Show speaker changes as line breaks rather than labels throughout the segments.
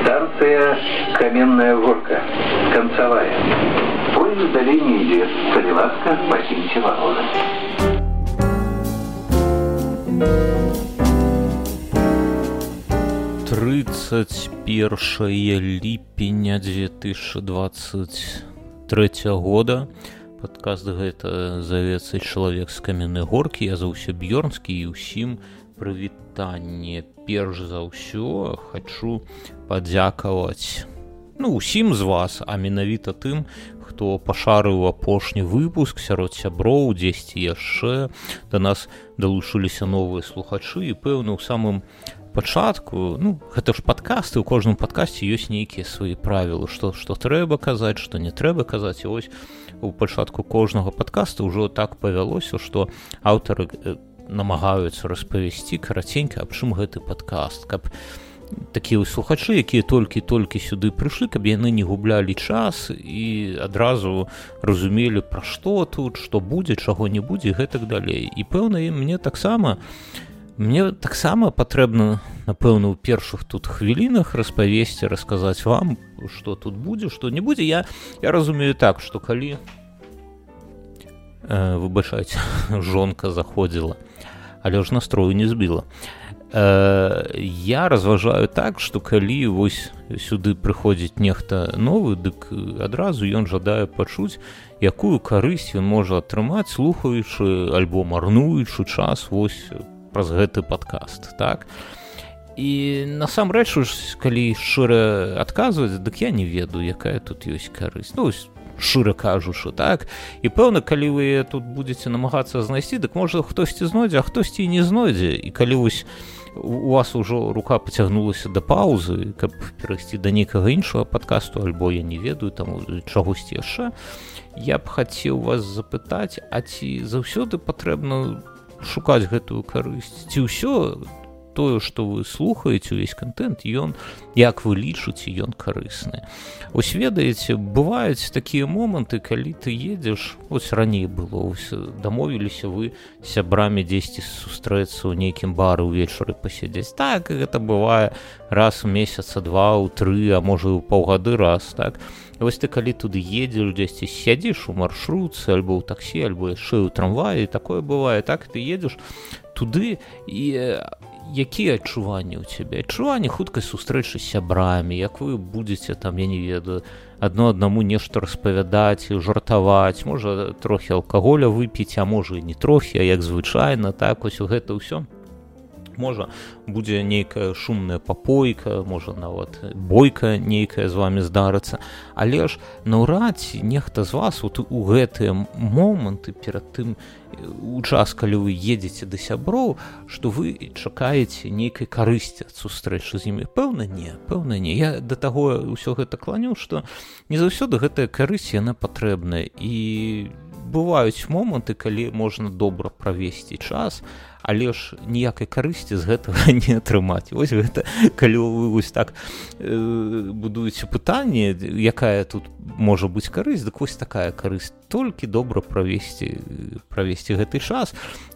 Станция Каменная Горка. Концевая. Поезд в долине идет. Солеватка, покиньте вагоны.
Тридцать 31 ліпеня 2023 года. Падкаст гэта завецца чалавек з Каменнай Горкі. Я заўсё Бёрнскі і ўсім прывітанне. Перш за ўсё хачу падзякаваць усім з вас, а менавіта тым, хто пашарыў апошні выпуск сярод сяброў, дзесьці яшчэ. Да нас далучыліся новыя слухачы і пэўна ў самым пачатку, гэта ж падкасты, у кожным падкасці ёсць нейкія свае правілы, што трэба казаць, што не трэба казаць. І вось у пачатку кожнага падкаста ўжо так павялося, што аўтары намагаюцца распавесці караценька, аб чым гэты падкаст, каб такія слухачы, якія толькі сюды прыйшлі, каб яны не гублялі час і адразу разумелі, пра што тут, што будзе, чаго не будзе, і гэтак далей. І пэўна, мне таксама патрэбна, напэўна, у першых тут хвілінах распавесці, расказаць вам, што тут будзе, што не будзе. Я разумею так, што калі, выбачайце, жонка заходзіла, але ж настрою не збіла. Я разважаю так, што калі вось сюды прыходзіць нехта новы, дык адразу ён жадае пачуць, якую карысць ён можа атрымаць, слухаючы альбо марнуючы час вось праз гэты падкаст, так? І насамрэч, калі шчыра адказваць, дык я не ведаю, якая тут ёсць карысць. Шчыра кажучы, так? І пэўна, калі вы тут будзеце намагацца знайсці, дык можа хтосьці знойдзе, а хтосьці і не знойдзе. І калі вось у вас ужо рука пацягнулася да паўзы, каб перайсці да нейкага іншага падкасту, альбо я не ведаю, там чагосьці яшчэ, я б хацеў вас запытаць, а ці заўсёды патрэбна шукаць гэтую карысць? Ці ўсё тое, што вы слухаеце, увесь контент, ён, як вы лічыце, ён карысны? Ось ведаеце, бываюць такія моманты, калі ты едзеш, ось раней было, ось дамовіліся вы з сябрамі дзесьці сустрэцца ў нейкім бары ўвечары пасядзець. Так, гэта бывае раз у месяца, два, у тры, а можа і ў паўгады раз, так? І вось ты калі туды едзеш, дзесьці сядзіш у маршрутцы, альбо ў таксі, альбо яшчэ ў трамваі, такое бывае, так, ты едзеш туды, і якія адчуванні ў цябе? Адчуванні хуткай сустрэчы з сябрамі, як вы будзеце там, я не ведаю, аднаму нешта распавядаць, жартаваць, можа трохі алкаголя выпіць, а можа і не трохі, а як звычайна, так, ось гэта ўсё. Можа, будзе нейкая шумная папойка, можа нават бойка нейкая з вамі здарыцца, але ж наўрад ці нехта з вас у гэтыя моманты перад тым, у час, калі вы едзеце да сяброў, што вы чакаеце нейкай карысці ад сустрэчы з імі. Пэўна не. Я да таго ўсё гэта кланю, што не заўсёды гэтая карысць, яна патрэбная. І бываюць моманты, калі можна добра правесці час, але ж ніякай карысці з гэтага не атрымаць. Вось гэта, калі вы вось так будуеце пытанне, якая тут можа быць карысць, дык вось такая карысць, толькі добра правесці гэты час.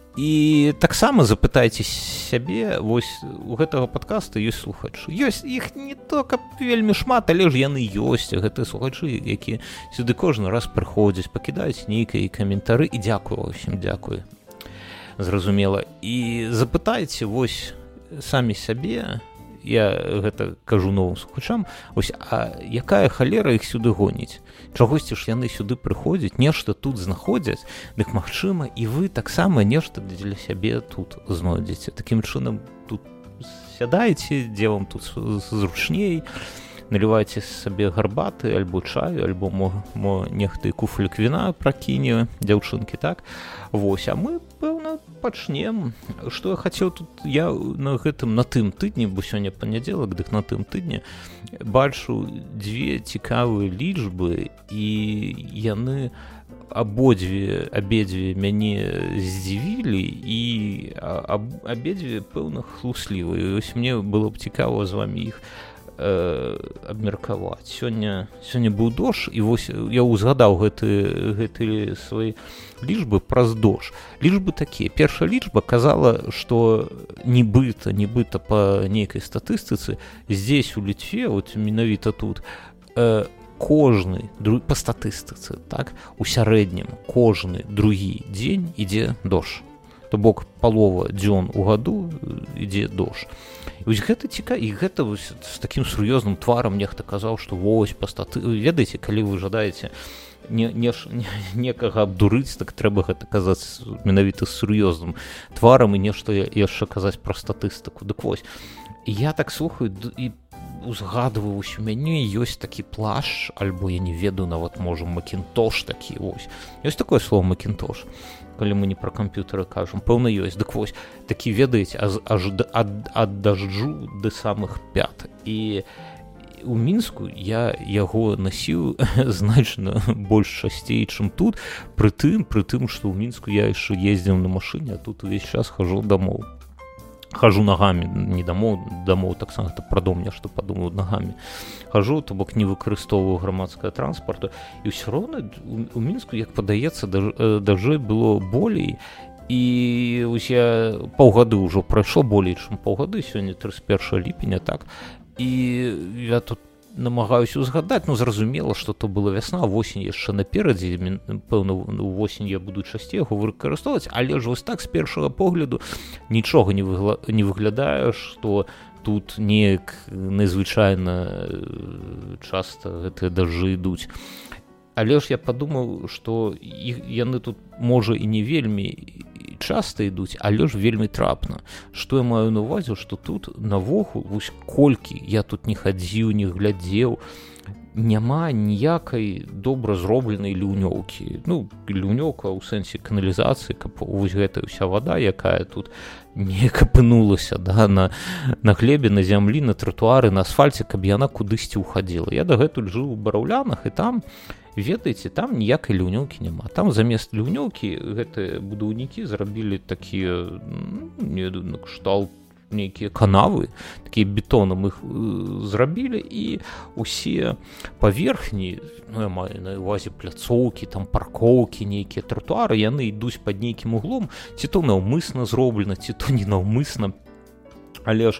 І таксама запытайце сябе, вось у гэтага падкаста ёсць слухачы. Ёсць іх не то, каб вельмі шмат, але ж яны ёсць, гэтыя слухачы, якія сюды кожны раз прыходзяць, пакідаюць нейкія каментары, і дзякую ўсім, дзякую. Зразумела. І запытайце вось самі сябе, я гэта кажу новым слухачам, вось, а якая халера іх сюды гоніць? Чагосьці ж яны сюды прыходзяць, нешта тут знаходзяць, дык магчыма, і вы таксама нешта для сябе тут знойдзеце. Такім чынам тут сядаеце, дзе вам тут зручней, налівайце сабе гарбаты, альбо чаю, альбо нехта і куфлік віна пракіне, дзяўчынкі, так? Вось, а мы, пэўна, пачнем. Што я хацеў тут, я на тым тыдні, бо сёння панядзелак, дык на тым тыдні бачу дзве цікавыя лічбы, і яны абедзве мяне здзівілі, і абедзве, пэўна, хлуслівыя. Вось мне было б цікава з вамі іх абмеркаваць. Сёння быў дождж, і вось я узгадаў гэты свае лічбы праз дождж. Лічбы такія. Першая лічба казала, што нібыта па нейкай статыстыцы здесь у Літве, вот менавіта тут, кожны, па статыстыцы, так, у сярэднім кожны другі дзень ідзе дождж. То бок палова дзён у году ідзе дождж. І вось гэта цікава, і гэта вось з такім сур'ёзным тварам нехта казаў, што вось па ведаеце, калі вы жадаеце некага абдурыць, так трэба гэта казаць менавіта з сур'ёзным тварам і нешта яшчэ казаць пра статыстыку. Дык вось, я так слухаю і узгадываю, вось у мяне ёсць такі плашч, альбо я не ведаю, нават можа макінтош такі, вось. Ёсць такое слово макінтош, калі мы не пра камп'ютары кажам, пэўна ёсць. Дык вось, такі, ведаеце, аж ад дажджу да самых пят. І у Мінску я яго насіў значна больш часцей, чым тут, пры тым, што ў Мінску я яшчэ ездзіў на машыне, а тут увесь час хожу дамоў. Хожу ногами, не домов таксама, это пра дом нешта падумаю, ногами хожу, то бок не выкарыстоўваю грамадскага транспарту, і ўсё роўна у Мінску, як падаецца, дажджэй было болей, і вось я паўгады ўжо прайшло, болей чым паўгады, сёння 31 ліпеня, так, і я тут намагаюся узгадаць, ну зразумела, што то была вясна, восень яшчэ наперадзе, пэўна, восень я буду часцей яго выкарыстоўваць, але ж вось так з першага погляду нічога не выглядае, што тут неяк незвычайна часта гэтыя дажджы ідуць. Але ж я падумаў, што яны тут, можа, і не вельмі часта ідуць, але ж вельмі трапна. Што я маю на ўвазе, што тут навогул, вось колькі я тут не хадзіў, не глядзеў, няма ніякай добра зробленай ліўнёўкі. Ну, ліўнёўка ў сэнсе каналізацыі, каб вось гэтая ўся вада, якая тут не апынулася, да, на глебе, на зямлі, на тратуары, на асфальце, каб яна кудысьці ўхадзіла. Я дагэтуль жыў у Бараўлянах, і там, ведаеце, там ніякай ліўнёўкі няма. Там замест ліўнёўкі гэтыя будаўнікі зрабілі такія, на кшталт нейкія канавы, такія бетонам іх зрабілі, і усе паверхні, ну я маю на ўвазе пляцоўкі, там паркоўкі, нейкія тратуары, яны ідуць пад нейкім углом, ці то наўмысна зроблена, ці то не наўмысна, але ж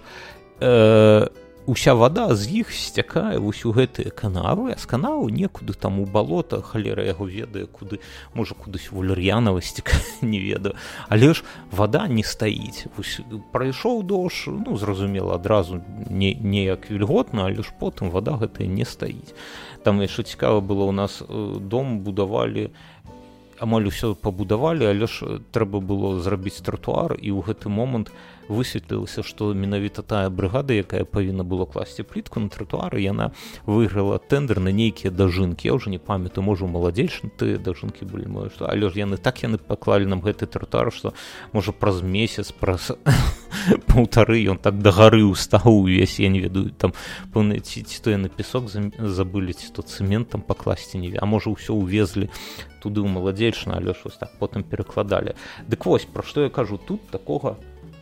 уся вада з іх сцякае вось у гэтыя канавы, а з канаву некуды там у балота, халера яго ведае, куды, можа, кудысь у Валер'янава сцякае, не ведаю, але ж вада не стаіць. Вось прайшоў дождж, ну, зразумела, адразу неяк вільготна, але ж потым вада гэтая не стаіць. Там яшчэ цікава было, у нас дом будавалі, амаль усё пабудавалі, але ж трэба было зрабіць тратуар, і ў гэты момант высветлілася, што менавіта тая брыгада, якая павінна была класці плітку на тратуары, яна выйграла тэндэр на нейкія дажынкі. Я ўжо не памятаю, можа, у маладзейшым тыя дажынкі былі, але ж яны паклалі нам гэты тратуар, што, можа, праз месяц, праз паўтары ён так дагары ўстаў увесь, я не ведаю, там, пэўна, ці то яны песок забылі, ці то цэмент там пакласці, не ведаю, а можа, ўсё увезлі туды ў маладзейшна, але ж вось так потым перакладалі. Дык вось, пра што я кажу, тут такога,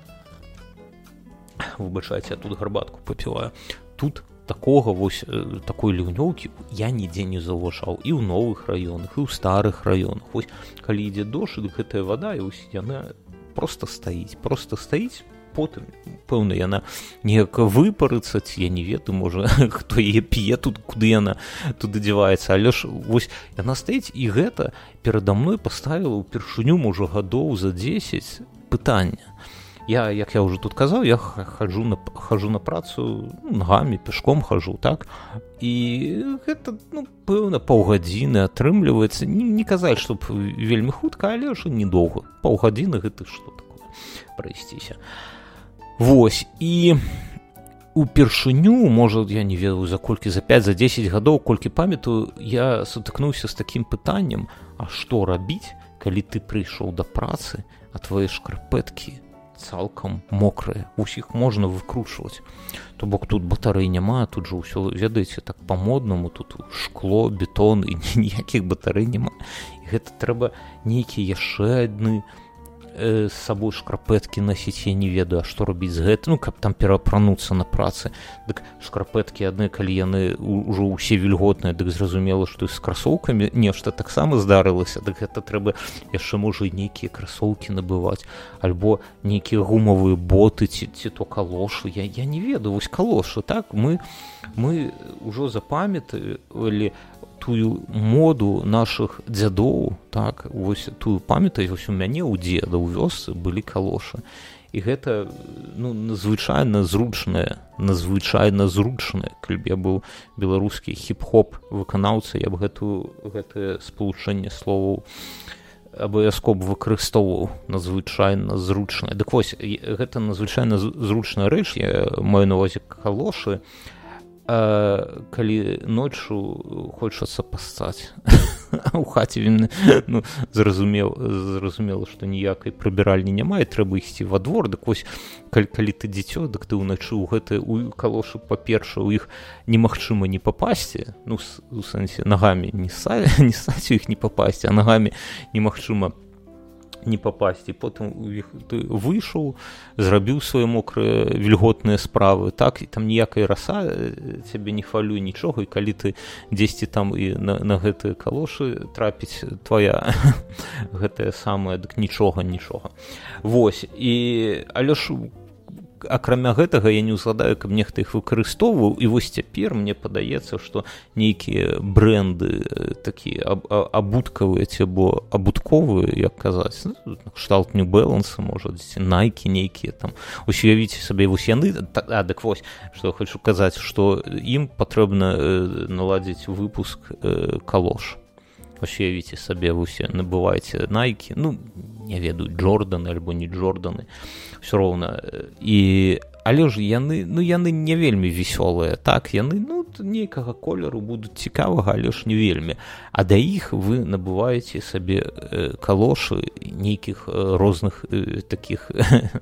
выбачайце, я тут гарбатку папіваю, тут такога вось, такой ліўнёўкі я нідзе не заўважаў, і ў новых раёнах, і ў старых раёнах. Вось, калі ідзе дождж, дык гэтая вада, і вось яна проста стаіць, потым, пэўна, яна неяк выпарыцца, ці я не ведаю, можа, хто яе п'е тут, куды яна туды дзяваецца, але ж вось яна стаіць, і гэта перада мной паставіла ўпершыню, можа, гадоў за 10 пытання. Я, як я ўжо тут казаў, я хаджу на працу нагамі, пешком хожу, так? І гэта, ну, пэўна, паўгадзіны атрымліваецца. Не казаць, што вельмі хутка, але ж недоўга. Паўгадзіны гэта што такое прайсціся. Вось, і упершыню, можа, я не ведаю, за колькі, за 5, за 10 гадоў, колькі памятаю, я сутыкнуўся з такім пытаннем, а што рабіць, калі ты прыйшоў да працы, а твае шкарпэткі цалкам мокрыя, усіх можна выкручваць. То бок тут батарэй няма, тут жа ўсё, ведаеце, так па-моднаму, тут шкло, бетон, і ніякіх батарэй няма. І гэта трэба нейкія яшчэ адны з сабой шкарпэткі насіць, я не ведаю, а што рабіць з гэтым, ну, каб там перапрануцца на працы. Дык шкарпэткі адны, калі яны ўжо ўсе вільготныя, дык зразумела, што з красоўкамі нешта таксама здарылася, дык гэта трэба яшчэ, можа, і нейкія красоўкі набываць, альбо нейкія гумавыя боты, ці то калошы, я не ведаю, вось калошы, так, мы ўжо запамяталі тую моду нашых дзядоў, так, вось тую памятаю, вось у мяне ў дзеда ў вёсцы былі калошы. І гэта, ну, надзвычайна зручнае, калі б я быў беларускі хіп-хоп выканаўца, я б гэтае спалучэнне словаў абавязкова выкарыстоўваў, надзвычайна зручнае. Дык вось, гэта надзвычайна зручная рэч, я маю на ўвазе калошы, калі ноччу хочацца пасцаць. У хаце він, ну, зразумела, што ніякай прыбіральні няма, і трэба ісці во двор. Дык вось, калі ты дзіцё, дык ты ўначы ў гэтыя калошы, па-першае, у іх немагчыма не папасці, ну, у сэнсе, нагамі не ссаць у іх не папасці, а нагамі немагчыма не папасці. Потым ты выйшаў, зрабіў свае мокрае вільготныя справы, так, і там ніякая раса цябе не хвалюе нічога, і калі ты дзесьці там і на гэтыя калошы трапіць твая гэтая самая, дык нічога. Вось, але ж акрамя гэтага я не ўзгадаю, каб нехта іх выкарыстоўваў, і вось цяпер мне падаецца, што нейкія брэнды такія абуткавыя ці або абутковыя, як казаць, кшталт New Balance, можа, Nike нейкія там. Вось уявіце сабе, вось яны, дык вось, што я хочу казаць, што ім патрэбна наладзіць выпуск калош. Вось уявіце сабе, вось набываеце Nike, ну, не ведаю, Джорданы альбо не Джорданы, все роўна. Але ж яны не вельмі весёлыя, так, яны, ну, нейкага колеру будуць цікавага, але ж не вельмі. А да іх вы набываеце сабе калошы нейкіх розных такіх,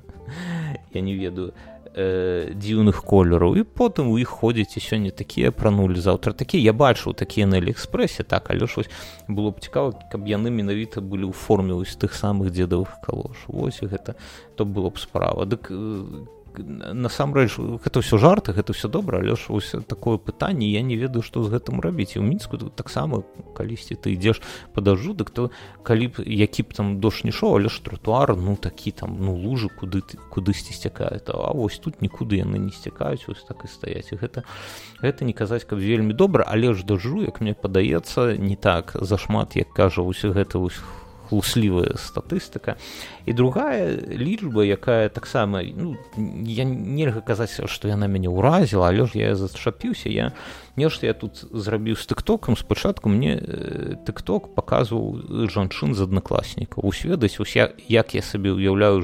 я не ведаю, дзіўных колераў, і потым у іх ходзіце, сёння такія апранулі, заўтра такія. Я бачыў такія на Аліэкспрэсе, так, але ж вось было б цікава, каб яны менавіта былі ў форме вось тых самых дзедавых калош. Вось гэта, то было б справа. Дык насамрэч, гэта ўсё жарты, гэта ўсё добра, але ж вось такое пытанне, я не ведаю, што з гэтым рабіць. І ў Мінску таксама, калісьці ты ідзеш па дажджу, дык то, калі б, які б там дождж не шоў, але ж тратуар, ну, такі там, ну, лужы кудысьці сцякаюць, а вось тут нікуды яны не сцякаюць, вось так і стаяць. І гэта не казаць, каб вельмі добра, але ж дажджу, як мне падаецца, не так зашмат, як кажа вось гэта вось хлуслівая статыстыка. І другая лічба, якая таксама, ну, я нельга казаць, што яна мяне ўразіла, але ж я зачапіўся, нешта я тут зрабіў з тыктокам. Спачатку мне тыкток паказваў жанчын з аднакласнікаў. Вось ведаць, як я сабе ўяўляю,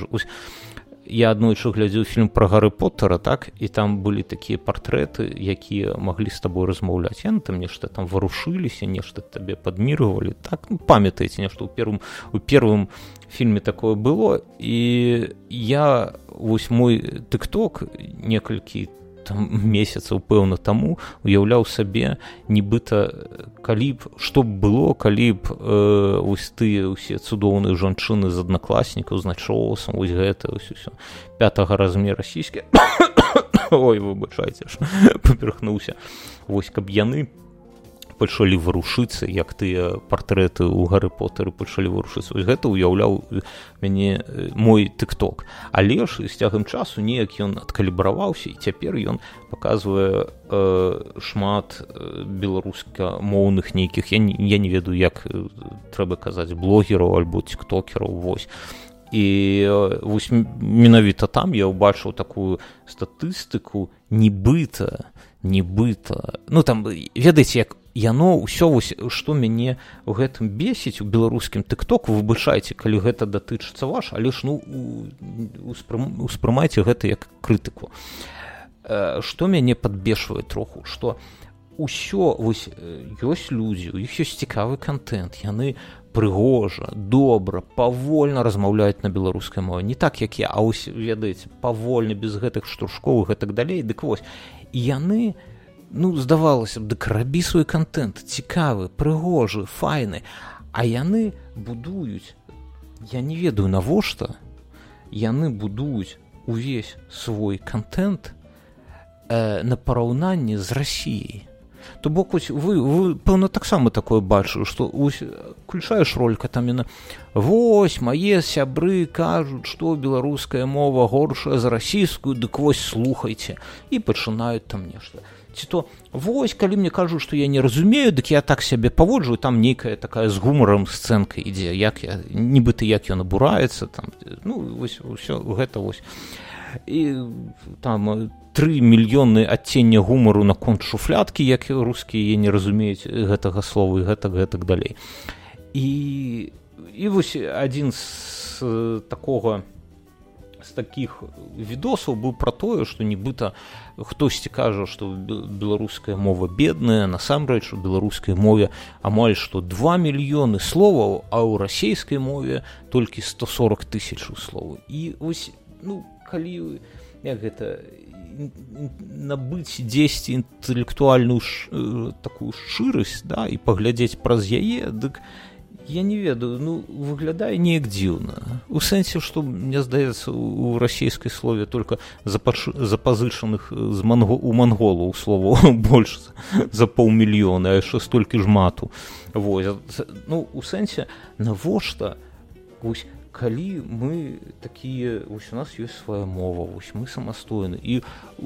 я аднойчы глядзеў фільм пра Гарры Поттера, так, і там былі такія партрэты, якія маглі з табой размаўляць. Яны там нешта там варушыліся, нешта табе падміргвалі, так, ну, памятаеце, нешта у первым фільме такое было. І я, вось мой тыкток некалькі там месяцаў, пэўна, таму уяўляў сабе, нібыта, калі б, што б было, калі б вось тыя ўсе цудоўныя жанчыны з аднакласнікаў, з начоўсам, вось гэта, вось усё, 5-го размера сіські, ой, выбачайце ж, паперхнуўся, вось, каб яны пачалі варушыцца, як тыя партрэты ў Гарры Поттэры пачалі варушыцца. Вось гэта ўяўляў мяне мой тыкток. Але ж з цягам часу неяк ён адкалібраваўся, і цяпер ён паказвае шмат беларускамоўных нейкіх, я не ведаю, як трэба казаць, блогераў альбо тиктокераў, вось. І вось менавіта там я ўбачыў такую статыстыку, нібыта, ну там, ведаеце, як яно ўсё, вось, што мяне ў гэтым бесіць у беларускім тыктоку, выбачайце, калі гэта датычыцца ваш, але ж, ну, успрымайце гэта як крытыку. Што мяне падбешвае троху, што ўсё, вось, ёсць людзі, у іх ёсць цікавы кантэнт, яны прыгожа, добра, павольна размаўляюць на беларускай мове, не так, як я, а вось, ведаеце, павольна, без гэтых штуршкоў і гэтак далей, дык вось, і яны, ну, здавалася б, дык рабі свой кантэнт, цікавы, прыгожы, файны, а яны будуюць я не ведаю, навошта яны будуюць увесь свой контент на параўнанні з Расіяй. То бок вы пэўна таксама такое бачыў, што включаеш ролика там яна вось мае сябры кажуць, што беларуская мова горшая за расійскую, дык вось слухайце, і пачынаюць там нешта. Ці то вось калі мне кажуць, што я не разумею, дык я так сябе паводжу, там нейкая такая з гумарам сцэнка ідзе, як я нібыта як ён абураецца там, ну вось усё гэта вось. І там 3 мільёны адцення гумару наконт шуфляткі, як рускія не разумеюць гэтага слова і гэтак далей. І вось адзін з такіх відосаў быў пра тое, што нібыта хтосьці кажа, што беларуская мова бедная, насамрэч у беларускай мове амаль што 2 мільёны словаў, а ў расейскай мове толькі 140 000 словаў. І вось, ну, калі як гэта набыць дзесьці інтэлектуальную такую шчырасць, да, і паглядзець праз яе, дык я не ведаю, ну выглядае неяк дзіўна. У сэнсе, што мне здаецца, у расійскай слове только запазычаных у манголаў словаў больш за 500 000, а яшчэ столькі ж мату. Вось, ну у сэнсе, навошта вось калі мы такія, вось у нас ёсць свая мова, вось мы самастойны, і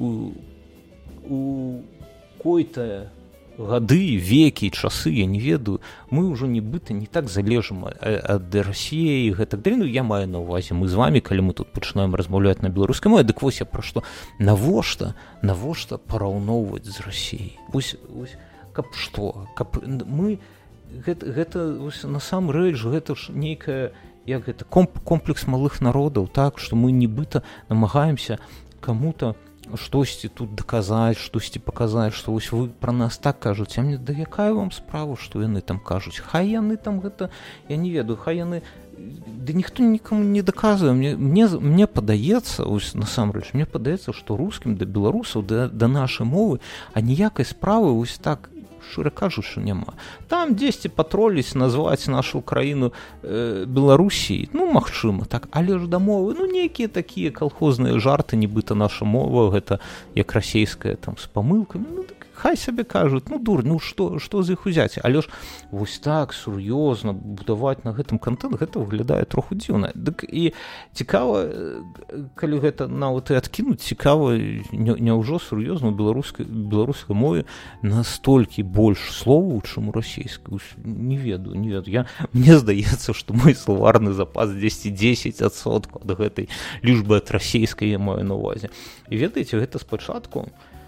у какой-то гады, векі, часы, я не ведаю, мы ўжо нібыта не так залежым ад Расіі і гэтак далей. Ну, я маю на ўвазе, мы з вамі, калі мы тут пачынаем размаўляць на беларускай мове, дык вось я пра што, навошта параўноўваць з Расіяй? Вось, каб што? Каб мы, гэта насамрэч, гэта ж нейкая, як гэта, комплекс малых народаў, так, што мы нібыта намагаемся каму-то штосьці тут даказаць, штосьці паказаць, што вось вы пра нас так кажуце, а мне да якая вам справа, што яны там кажуць? Хай яны там гэта, я не ведаю, хай яны, да ніхто нікому не даказвае. Мне падаецца, ось насамрэч, мне падаецца, што рускім да беларусаў, да нашай мовы, а ніякай справы вось так, шчыра кажучы, няма. Там дзесьці патроліць назваць нашу краіну Беларусіяй, ну, магчыма, так, але ж да мовы, ну, нейкія такія калхозныя жарты, нібыта наша мова, гэта як расейская, там, з памылкамі, ну, так, хай сабе кажуць, ну, дурь, ну, што з іх узяць? Але ж вось так сур'ёзна будаваць на гэтым контент, гэта выглядае троху дзіўна. Дык і цікава, калі гэта нават і адкінуць, цікава, няўжо сур'ёзна у беларускай мове настолькі больш словаў, чым у расійскай? Не ведаю. Мне здаецца, што мой словарны запас дзесьці 10% ад гэтай лічбы ад расійскай я маю на ўвазе. І ведаеце, гэта спачатку,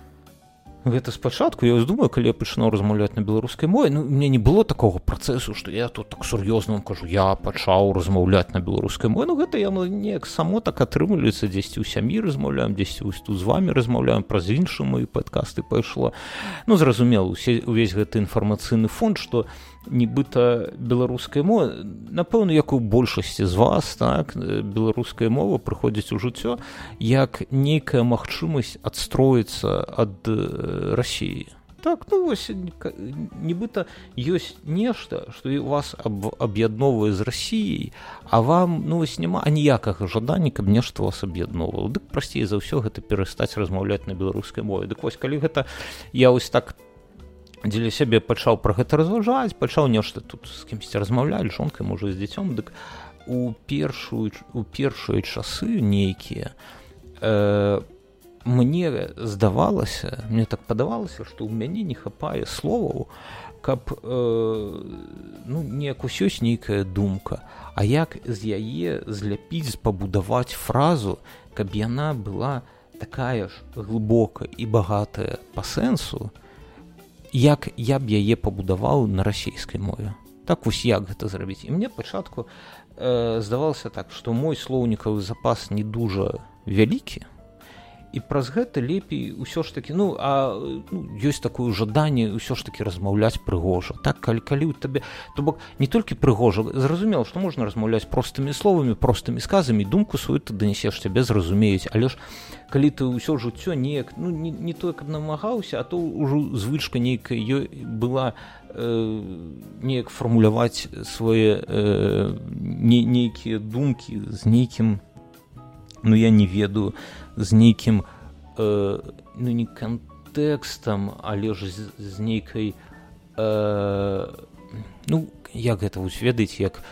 я вось думаю, калі я пачынаў размаўляць на беларускай мове, ну, у мяне не было такога працэсу, што я тут так сур'ёзна вам кажу, я пачаў размаўляць на беларускай мове. Ну, гэта яно неяк само так атрымліваецца, дзесьці ў сям'і размаўляем, дзесьці вось тут з вамі размаўляем, праз іншыя мои падкасты пайшло. Ну, зразумела, увесь гэты інфармацыйны фонд, што нібыта беларуская мова, напэўна, як у большасці з вас, так, беларуская мова прыходзіць у жыццё як нейкая магчымасць адстроіцца ад Расіі. Так, ну вось, нібыта ёсць нешта, што вас аб'ядноўвае з Расіяй, а вам, ну вось, няма аніякага жадання, каб нешта вас аб'ядноўвала. Дык прасцей за ўсё гэта перастаць размаўляць на беларускай мове. Дык вось, калі гэта я вось так дзеля сябе пачаў пра гэта разважаць, пачаў нешта тут з кімсьці размаўляць, жонкай, можа, з дзіцём, дык у першыя часы нейкія мне здавалася, мне так падавалася, што ў мяне не хапае словаў, каб, ну, неяк усё ёсць нейкая думка, а як з яе зляпіць, пабудаваць фразу, каб яна была такая ж глыбокая і багатая па сэнсу, як я б яе пабудаваў на расійскай мове. Так вось як гэта зрабіць. І мне пачатку здавалася так, што мой слоўнікавы запас не дужа вялікі, і праз гэта лепей усё ж такі, ну, ёсць такое жаданне ўсё ж такі размаўляць прыгожа. Так, калі ў табе, то бок не толькі прыгожа, зразумела, што можна размаўляць простымі словамі, простымі сказамі, думку сваю ты данесеш, цябе зразумеюць, але ж калі ты ўсё жыццё неяк, ну, не тое, каб намагаўся, а то ўжо звычка нейкая была неяк фармуляваць свае нейкія думкі з нейкім, ну я не ведаю, з нейкім ну не кантэкстам, але ж з нейкай ну як гэта вось ведаеце, як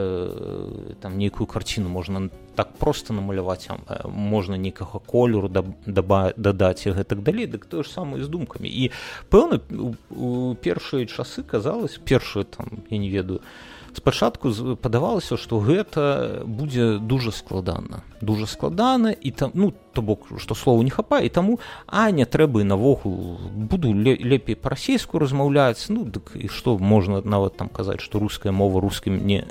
там нейкую карціну можна так проста намаляваць, можна нейкага колеру дадаць і гэтак далей, дык тое ж самае з думкамі. І пэўна у першыя часы казалось, першыя там я не ведаю, спачатку падавалася, што гэта будзе дужа складана і там, ну то бок, што слова не хапае, і таму не трэба і навогул, буду лепей па-расейску размаўляць, ну дык і што можна нават там казаць, што руская мова рускім не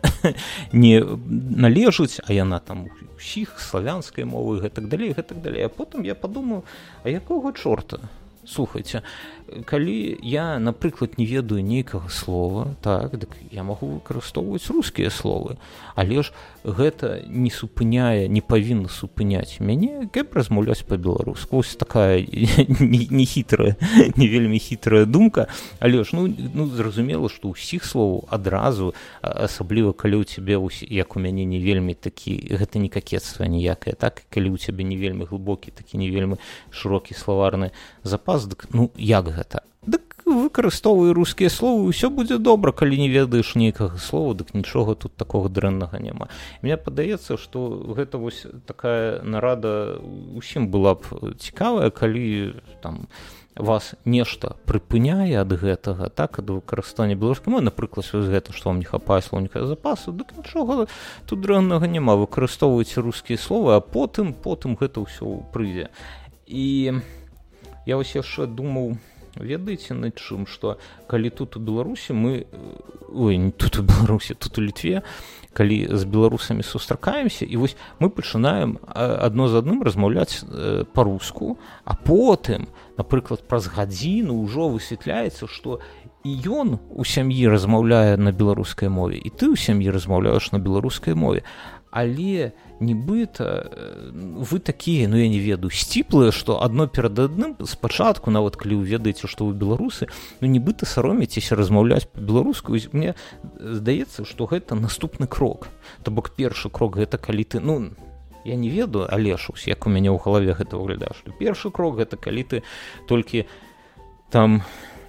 належыць, а яна там усіх славянскай мовы і гэтак далей. А потым я падумаў, а якога чорта? Слухайце, калі я, напрыклад, не ведаю нейкага слова, так, дык я магу выкарыстоўваць рускія словы, але ж гэта не супыняе, не павінна супыняць мяне, каб размаўляць па-беларуску. Вось такая не хітрая, не вельмі хітрая думка, але ж, ну зразумела, што ўсіх словаў адразу, асабліва калі ў цябе, як у мяне, не вельмі такі, гэта не какецтва ніякае, так, калі ў цябе не вельмі глыбокі, такі не вельмі шырокі словарны запас, дык, ну, як гэта? Дык выкарыстоўвай рускія словы, ўсё будзе добра, калі не ведаеш нейкага слова, дык нічога тут такога дрэннага няма. Мне падаецца, што гэта вось такая нарада усім была б цікавая, калі там вас нешта прыпыняе ад гэтага, так, ад выкарыстання беларускай мовы, напрыклад, вось гэта, што вам не хапае слоўніка запасу, дык нічога тут дрэннага няма, выкарыстоўвайце рускія словы, а потым гэта ўсё прыйдзе. І я вось яшчэ думаў, ведаеце, над чым, што калі тут у Беларусі не тут у Беларусі, тут у Літве, калі з беларусамі сустракаемся, і вось мы пачынаем адно з адным размаўляць па-руску, а потым, напрыклад, праз гадзіну ўжо высвятляецца, што і ён у сям'і размаўляе на беларускай мове, і ты ў сям'і размаўляеш на беларускай мове, але нібыта вы такія, ну я не ведаю, сціплыя, што адно перад адным спачатку, нават калі вы ведаеце, што вы беларусы, ну нібыта саромеецеся размаўляць па-беларуску. Мне здаецца, што гэта наступны крок. То бок першы крок гэта калі ты, ну я не ведаю, але ж як у мяне ў галаве гэта выглядае, што першы крок гэта калі ты толькі там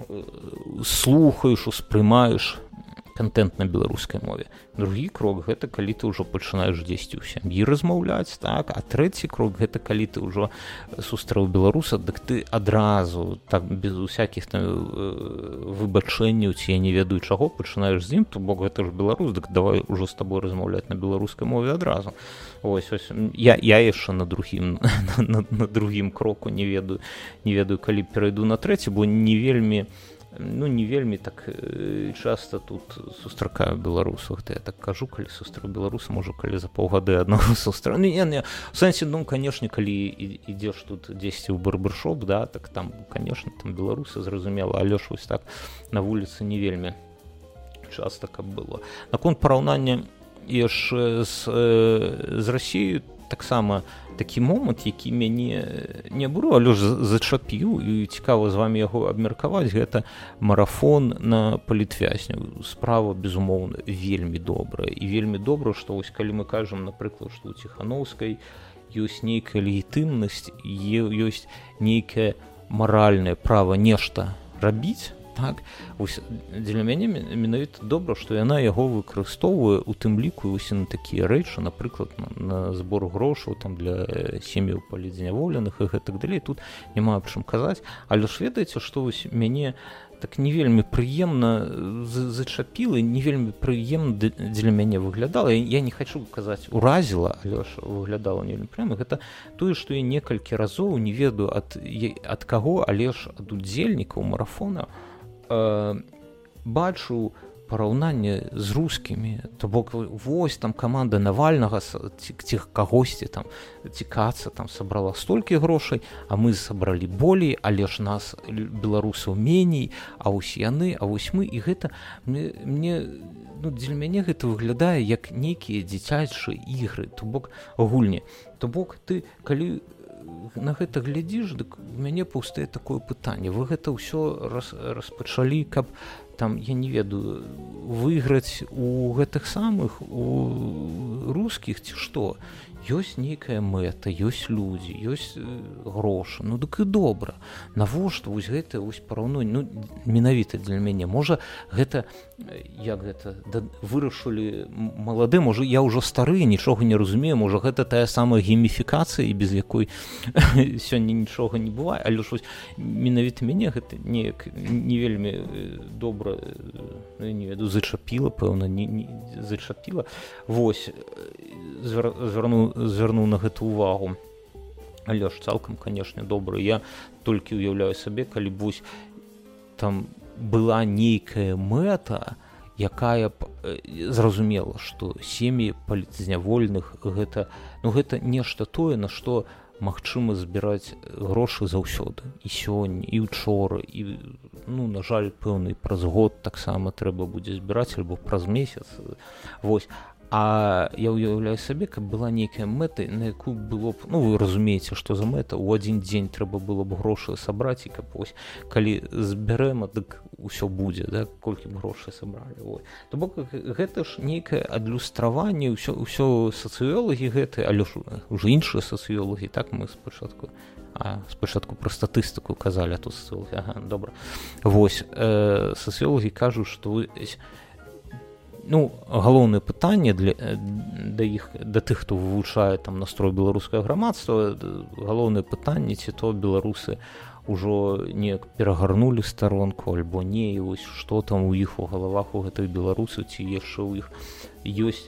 слухаеш, успрымаеш контент на беларускай мове. Другі крок гэта калі ты ўжо пачынаеш дзесьці ў сям'і размаўляць, так, а трэці крок гэта калі ты ўжо сустрэў беларуса, дык ты адразу так без усякіх там выбачэнняў ці я не ведаю чаго пачынаеш з ім, то бок гэта ж беларус, дык давай ужо з табой размаўляць на беларускай мове адразу. Ось я яшчэ на другім кроку не ведаю калі перайду на трэці, бо не вельмі так часта тут сустракаю беларусаў. Я так кажу, калі сустрэў беларуса, можа калі за паўгады аднаго сустрэў. Не, у сэнсе, ну, канешне, калі ідзеш тут дзесьці ў барбершоп, да, так там, канешне, там беларусы, зразумела, але ж вось так на вуліцы не вельмі часта каб было. Наконт параўнання яшчэ з Расіяй, таксама такі момант, які мяне не абурыў, але ж зачапіў, і цікава з вамі яго абмеркаваць, гэта марафон на палітвязняў. Справа, безумоўна, вельмі добрая. І вельмі добра, што вось калі мы кажам, напрыклад, што ў Ціханаўскай ёсць нейкая легітымнасць, ёсць нейкае маральнае права нешта рабіць, так, вось дзеля мяне менавіта добра, што яна яго выкарыстоўвае у тым ліку вось на такія рэчы, напрыклад, на збор грошаў там для сем'яў палітзняволеных і гэтак далей. Тут няма аб чым казаць, але ж ведаеце, што вось мяне так не вельмі прыемна зачапіла, не вельмі прыемна дзеля мяне выглядала. Я не хачу казаць уразіла, але ж выглядала не вельмі прыемна. Гэта тое, што я некалькі разоў не ведаю ад каго, але ж ад удзельнікаў марафона бачу параўнанне з рускімі. То бок вось там каманда Навальнага ці кагосьці там цікацца там сабрала столькі грошай, а мы сабралі болей, але ж нас беларусаў меней, а вось яны, а вось мы. І гэта мне дзеля мяне гэта выглядае як нейкія дзіцячыя ігры, то бок гульні. То бок ты калі на гэта глядзіш, дык у мяне паўстае такое пытанне. Вы гэта ўсё распачалі, каб там, я не ведаю, выйграць у гэтых самых, у рускіх ці што. Ёсць нейкая мэта, ёсць людзі, ёсць грошы, ну дык і добра. Навошта вось гэта вось параўнанне, ну менавіта для мяне, можа гэта, як гэта, вырашылі малады, можа я ўжо стары, нічога не разумею, можа гэта тая самая гейміфікацыя, без якой сёння нічога не бывае, але ж вось менавіта мяне гэта неяк не вельмі добра, не веду, зачапіла, пэўна, не зачапіла. Вось, звярнуў на гэту увагу. Але ж цалкам, канешне, добра. Я толькі ўяўляю сабе, калі б вось там была нейкая мэта, якая б зразумела, што сем'і палітзнявольных гэта, ну, гэта нешта тое, на што магчыма збіраць грошы заўсёды. І сёння, і ўчора, і, ну, на жаль, пэўны праз год таксама трэба будзе збіраць, альбо праз месяц. Вось. А я ўяўляю сабе, каб была нейкая мэта, на якую было б, ну, вы разумееце, што за мэта, у адзін дзень трэба было б грошы сабраць, і каб вось, калі збярэм, дык усё будзе, да, колькі б грошай сабралі. То бок гэта ж нейкае адлюстраванне, ўсё сацыёлагі гэтыя, але ж уже іншыя сацыёлагі, так мы спачатку пра статыстыку казалі, а тут сацыёлагі, ага, добра. Вось, сацыёлагі кажуць, што ну, галоўнае пытанне да тых, хто вывучае там настрой беларускае грамадства, галоўнае пытанне, ці то беларусы ўжо неяк перагарнулі старонку, альбо не, і вось што там у іх у галавах у гэтых беларусаў, ці яшчэ ў іх ёсць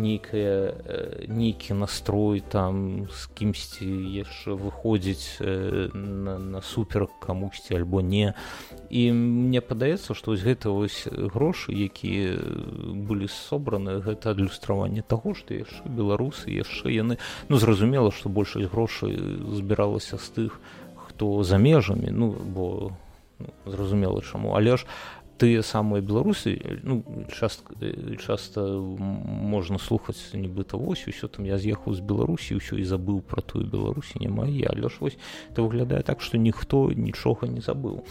нейкі настрой там з кімсьці яшчэ выходзіць на супер камусьці альбо не. І мне падаецца, што вось гэта вось грошы, якія былі собраны, гэта адлюстраванне таго, што яшчэ беларусы, яшчэ яны, ну, зразумела, што большасць грошай збіралася з тых, хто за межамі, ну, бо зразумела чаму, але ж тыя самыя беларусы, ну, часта можна слухаць нібыта вось, усё там я з'ехаў з Беларусі, усё і забыў пра тую Беларусі, няма я, але ж вось это выглядае так, што ніхто нічога не забыў.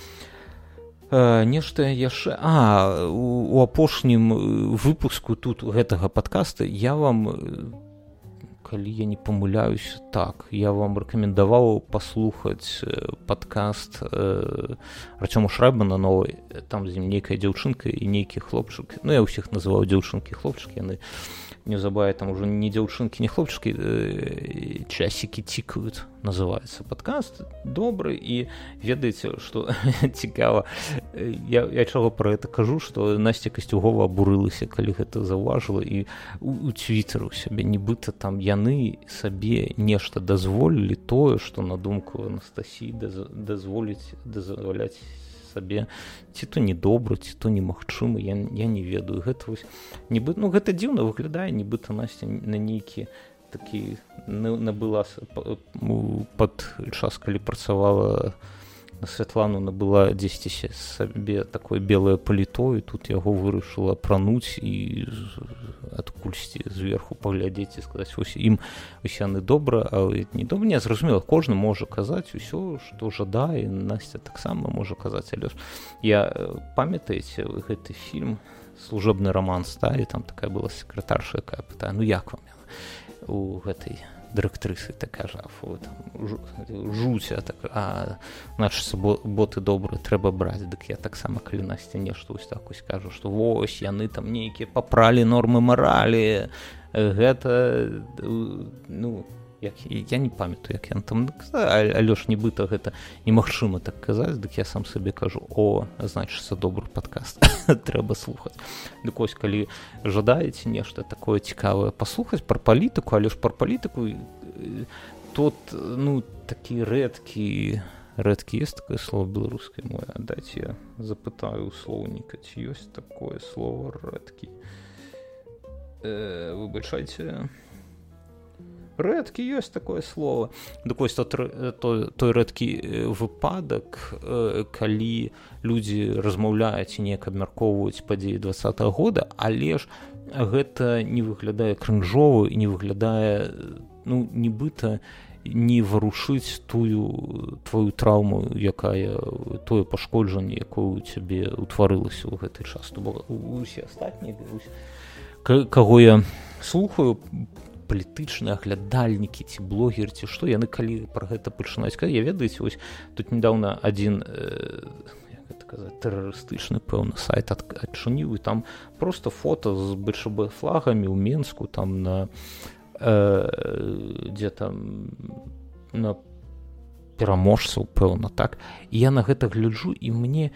Нешта яшчэ, у апошнім выпуску тут гэтага падкаста я вам, калі я не памыляюсь, так, я вам рэкамендаваў паслухаць падкаст Артёма Шрайбмана новый, там з ім нейкая дзяўчынка і нейкі хлопчык, ну я ўсіх называў дзяўчынкі, хлопчыкі, яны неўзабаве там ужо не дзяўчынкі, не хлопчыкі, часікі цікаюць, называецца падкаст, добры, і ведаеце, што цікава, я чаго пра гэта кажу, што Насця Касцюгова абурылася, калі гэта заўважыла, і у Твіттэру сябе, нібыта там яны сабе нешта дазволілі тое, што на думку Анастасіі дазваляць сабе, ці то недобра, ці то немагчыма, я не ведаю. Гэта вось нібыта, ну гэта дзіўна выглядае, нібыта Насця на нейкі такі набыла пад час, калі працавала на Святлану, набыла дзесьці сабе такое белае паліто, і тут яго вырашыла апрануць і адкульсьці зверху паглядзець і сказаць, вось ім яны добра, а не добра, не, зразумела, кожны можа казаць усё, што жадае, Насця таксама можа казаць, але ж я, памятаеце гэты фільм «Служебны роман стаі», там такая была сакратарша, якая пытае, ну як вам у гэтай дырэктрысы такая жафу, жуця, значыцца, боты добры трэба браць, дык я таксама, калі Насця нешта вось так вось кажу, што вось яны там нейкія папралі нормы маралі, гэта, ну, я не памятаю, як яны там, але ж нібыта гэта немагчыма так казаць, дык я сам сабе кажу, значыцца, добры падкаст, трэба слухаць. Дык вось, калі жадаеце нешта такое цікавае паслухаць пра палітыку, але ж пра палітыку тут, ну, такі рэдкі ёсць такое слово беларускай мове, дайце я запытаю у слоўніка, ці ёсць такое слово рэдкі. Выбачайце, рэдкі ёсць такое слово. Дык вось той рэдкі выпадак, калі людзі размаўляюць і неяк абмяркоўваюць падзеі 20-го года, але ж гэта не выглядае крынжова і не выглядае, ну, нібыта не варушыць твою траўму, якая тое пашкоджанне, якое у цябе ўтварылася ў гэты час. То бок усе астатнія, каго я слухаю, палітычныя глядальнікі ці блогеры ці што, яны калі пра гэта пачынаюць казаць, я ведаеце, вось тут недавно адзін тэрарыстычны пэўны сайт адчыніў, і там просто фото з БЧБ флагамі ў Менску, там на дзе там на пераможцаў, пэўна, так, і я на гэта гляджу, і мне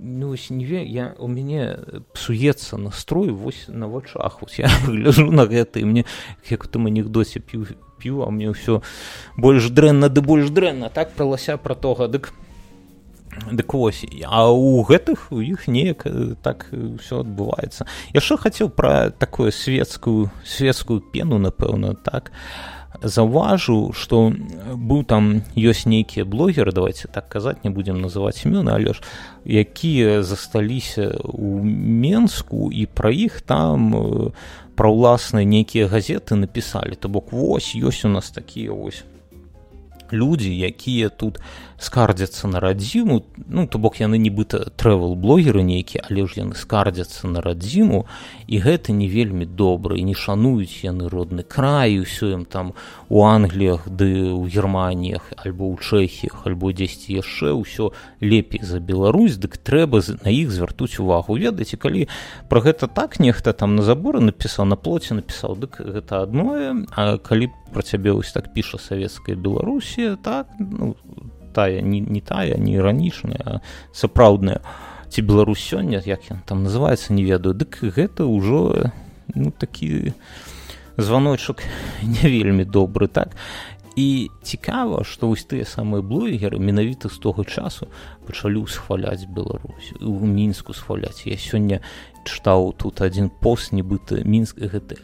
у мяне псуецца настрой вось на вачах, вось я гляджу на гэта, і мне, як у тым анекдоце, п'ю, а мне ўсё больш дрэнна, так, пра лася, пра тога, дык вось, а у гэтых, у іх неяк так ўсё адбываецца. Яшчэ хацеў пра такую светскую пену, напэўна, так, заўважыў, што быў там, ёсць нейкія блогеры, давайте так казаць, не будзем называць імёны, але ж якія засталіся ў Менску, і пра іх там пра ўласныя нейкія газеты напісалі. То бок вось ёсць у нас такія вось людзі, якія тут скардзяцца на радзіму, ну, то бок яны нібыта трэвел-блогеры нейкія, але ж яны скардзяцца на радзіму, і гэта не вельмі добра, і не шануюць яны родны край, усё ім там у Англіях, ды ў Германіях, альбо ў Чэхіях, альбо дзесьці яшчэ ўсё лепей за Беларусь, дык трэба на іх звяртуць увагу. Ведаеце, калі пра гэта так нехта там на заборы напісаў, на плоце напісаў, дык гэта адное, а калі пра цябе вось так піша савецкая Беларусія, так, ну, тая, не тая, не іранічная, а сапраўдная, ці Беларусь сёння, як ён там называецца, не ведаю, дык гэта ўжо, ну, такі званочак не вельмі добры, так. І цікава, што вось тыя самыя блогеры менавіта з того часу пачалі ўсхваляць Беларусь, у Мінску схваляць. Я сёння чытаў тут адзін пост, нібыта Мінск гэта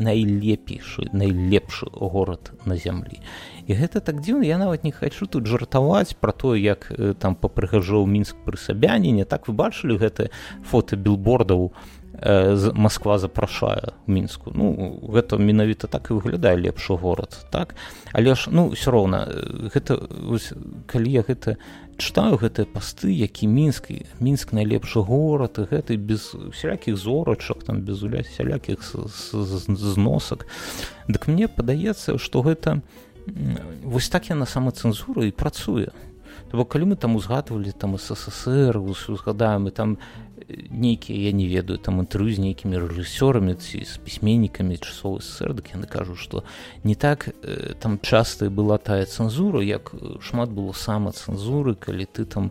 найлепшы горад на зямлі. І гэта так дзіўна, я нават не хачу тут жартаваць пра тое, як там папрыгажоў Мінск пры Сабяніне. Так, вы бачылі гэта фота білбордаў Масква запрашае ў Мінску. Ну, гэта менавіта так і выглядае лепшы горад, так? Але ж, ну, ўсё роўна, гэта, калі я гэта чытаю, гэтыя пасты, які Мінск найлепшы горад, і гэта без всялякіх зорачак, там, без всялякіх зносак, дык мне падаецца, што гэта вось так яна самацэнзура і працуе. То бок, калі мы там узгадвалі там СССР, узгадаем, і там нейкія, я не ведаю, там інтэрв'ю з нейкімі рэжысёрамі ці з пісьменнікамі часоў СССР, дык яны кажуць, што не так там часта была тая цэнзура, як шмат было самацэнзуры, калі ты там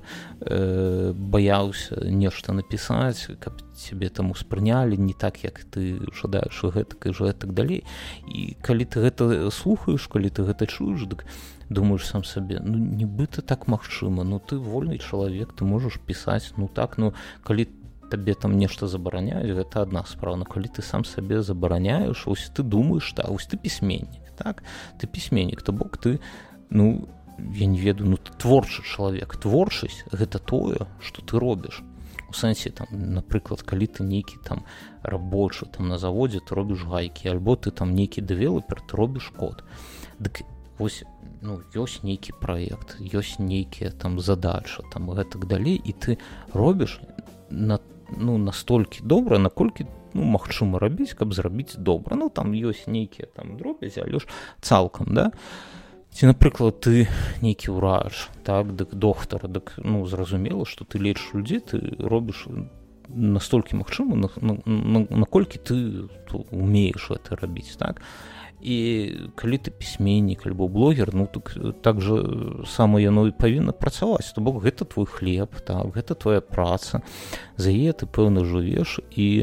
баяўся нешта напісаць, каб цябе там успрынялі не так, як ты жадаеш гэтак і гэтак далей. І калі ты гэта слухаеш, калі ты гэта чуеш, дык думаеш сам сабе, ну, нібыта так магчыма, ну, ты вольны чалавек, ты можаш пісаць, ну, так, ну, калі табе там нешта забараняюць, гэта адна справа, но калі ты сам сабе забараняеш, ось ты думаеш, так, ось ты пісьменнік, так, ты пісьменнік, то бок ты, ну, я не ведаю, ну, ты творчы чалавек, творчасць гэта тое, што ты робіш. У сэнсе, там, напрыклад, калі ты нейкі там рабочы там на заводзе, ты робіш гайкі, альбо ты там нейкі дэвелапер, ты робіш код. Дык вось, ну, ёсць нейкі праект, ёсць нейкія там задача, там, гэтак далей, і ты робіш настолькі добра, наколькі, ну, магчыма рабіць, каб зрабіць добра. Ну, там ёсць нейкія там дробязі, але ж цалкам, да? Ці, напрыклад, ты нейкі ўрач, так, дык доктар, дык, ну, зразумела, што ты лечыш людзей, ты робіш настолькі магчыма, наколькі ты умееш гэта рабіць, так? І калі ты пісьменнік альбо блогер, ну, так жа сама яно і павінна працаваць. То бок гэта твой хлеб, так, гэта твоя праца, за яе ты, пэўна, жывеш,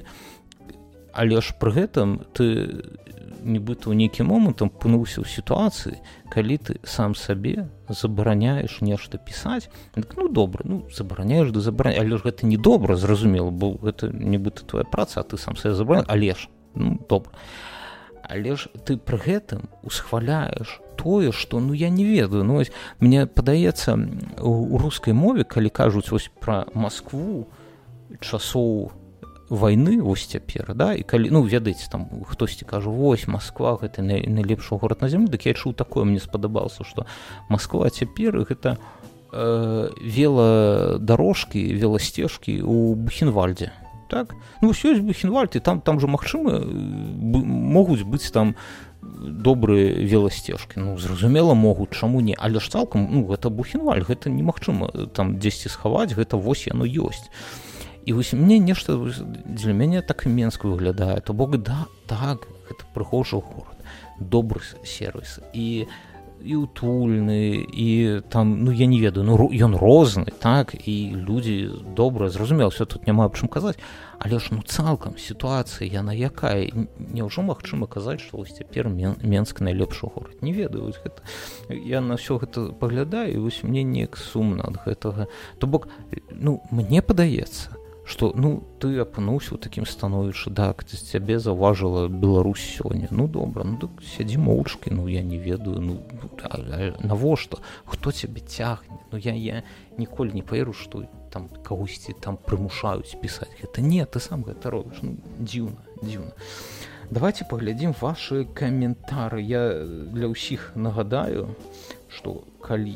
але ж пры гэтым ты нібыта ў нейкі момант апынуўся ў сітуацыі, калі ты сам сабе забараняеш нешта пісаць, так, ну, добра, ну, забараняеш, але ж гэта не добра, зразумела, бо гэта нібыта твоя праца, а ты сам сабе забараняеш, але ж, ну, добра. Але ж ты пры гэтым усхваляеш тое, што, ну, я не ведаю, ну, ось, мне падаецца, у рускай мове, калі кажуць вось пра Маскву часоў вайны вось цяпер, да, і калі, ну, ведаеце, там хтосьці кажа, вось Масква гэта найлепшы горад на зямлі, дык я чуў такое, мне спадабалася, што Масква цяпер гэта веладарожкі, веласцежкі ў Бухенвальдзе, так? Ну, вось ёсць Бухенвальд, і там жа магчыма могуць быць там добрыя веласцежкі. Ну, зразумела, могуць, чаму не, але ж цалкам, ну, гэта Бухенвальд, гэта немагчыма там дзесьці схаваць, гэта вось яно ёсць. І вось мне нешта для мяне так і Менск выглядае, то бок да, так, гэта прыгожы горад, добры сервіс і утульны, і там, ну, я не ведаю, ну, ён розны, так, і людзі добра, зразумела, все тут няма аб чым казаць, але ж, ну, цалкам сітуацыя, яна якая, няўжо магчыма казаць, што вось цяпер Менск найлепшы горад, не ведаю, вось гэта, я на ўсё гэта паглядаю, і вось мне неяк сумна ад гэтага, то бок, ну, мне падаецца, што, ну, ты апынуўся ў такім становішчы, так, з цябе заўважыла Беларусь сёння, ну, добра, ну, так сядзі моўчкі, ну, я не ведаю, ну, навошта, хто цябе цягне, ну, я ніколі не паверу, што там кагосьці там прымушаюць пісаць гэта, не, ты сам гэта робіш, ну, дзіўна. Давайте паглядзім вашы каментары, я для ўсіх нагадаю, што калі,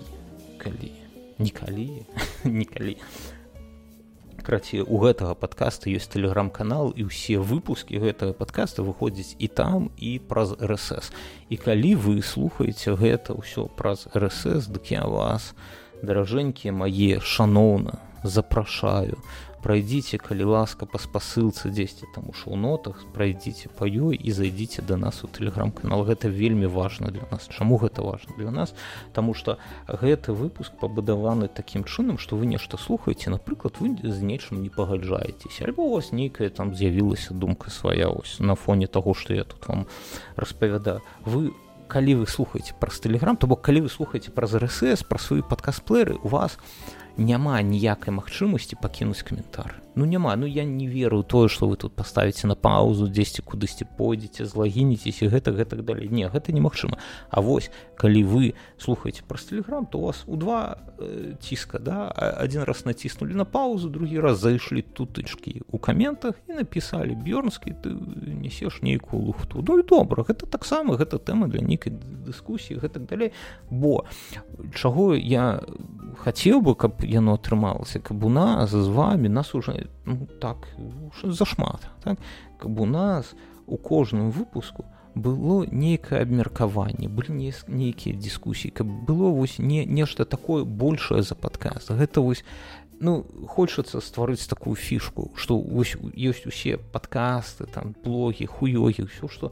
крацей, у гэтага падкаста ёсць тэлеграм-канал, і ўсе выпускі гэтага падкаста выходзяць і там, і праз RSS. І калі вы слухаеце гэта ўсё праз RSS, дык я вас, даражэнькія мае, шаноўна, запрашаю, прайдзіце, калі ласка, па спасылцы дзесьці там у шоу-нотах, прайдзіце па ёй і зайдзіце да нас у тэлеграм-канал. Гэта вельмі важна для нас. Чаму гэта важна для нас? Таму што гэты выпуск пабудаваны такім чынам, што вы нешта слухаеце, напрыклад, вы з нечым не пагаджаецеся, альбо у вас нейкая там з'явілася думка свая ось на фоне таго, што я тут вам распавядаю. Калі вы слухаеце праз тэлеграм, то бок калі вы слухаеце праз RSS, праз свае падкаст-плееры, у вас няма ніякай магчымасці пакінуць каментар. Ну, няма, ну, я не веру ў тое, што вы тут паставіце на паузу, дзесьці кудысьці пойдзеце, злагінецеся, гэтак далей. Не, гэта немагчыма. А вось, калі вы слухаеце праз тэлеграм, то у вас у два ціска, да, адзін раз націснулі на паузу, другі раз зайшлі тутычкі ў каментах і напісалі: Бёрнскі, ты несеш нейкую лухту. Ну, і добра, гэта таксама, гэта тэма для нейкай дыскусіі, гэтак далей. Бо чаго я хацеў бы, каб яно атрымалася, каб у нас з вамі, нас уже, ну, так, зашмат, так, каб у нас у кожным выпуску было нейкае абмеркаванне, былі нейкія дыскусіі, каб было вось нешта такое большае за падкаст. Гэта вось, ну, хочацца стварыць такую фішку, што вось ёсць усе падкасты, там, блогі, хуёгі, ўсё, што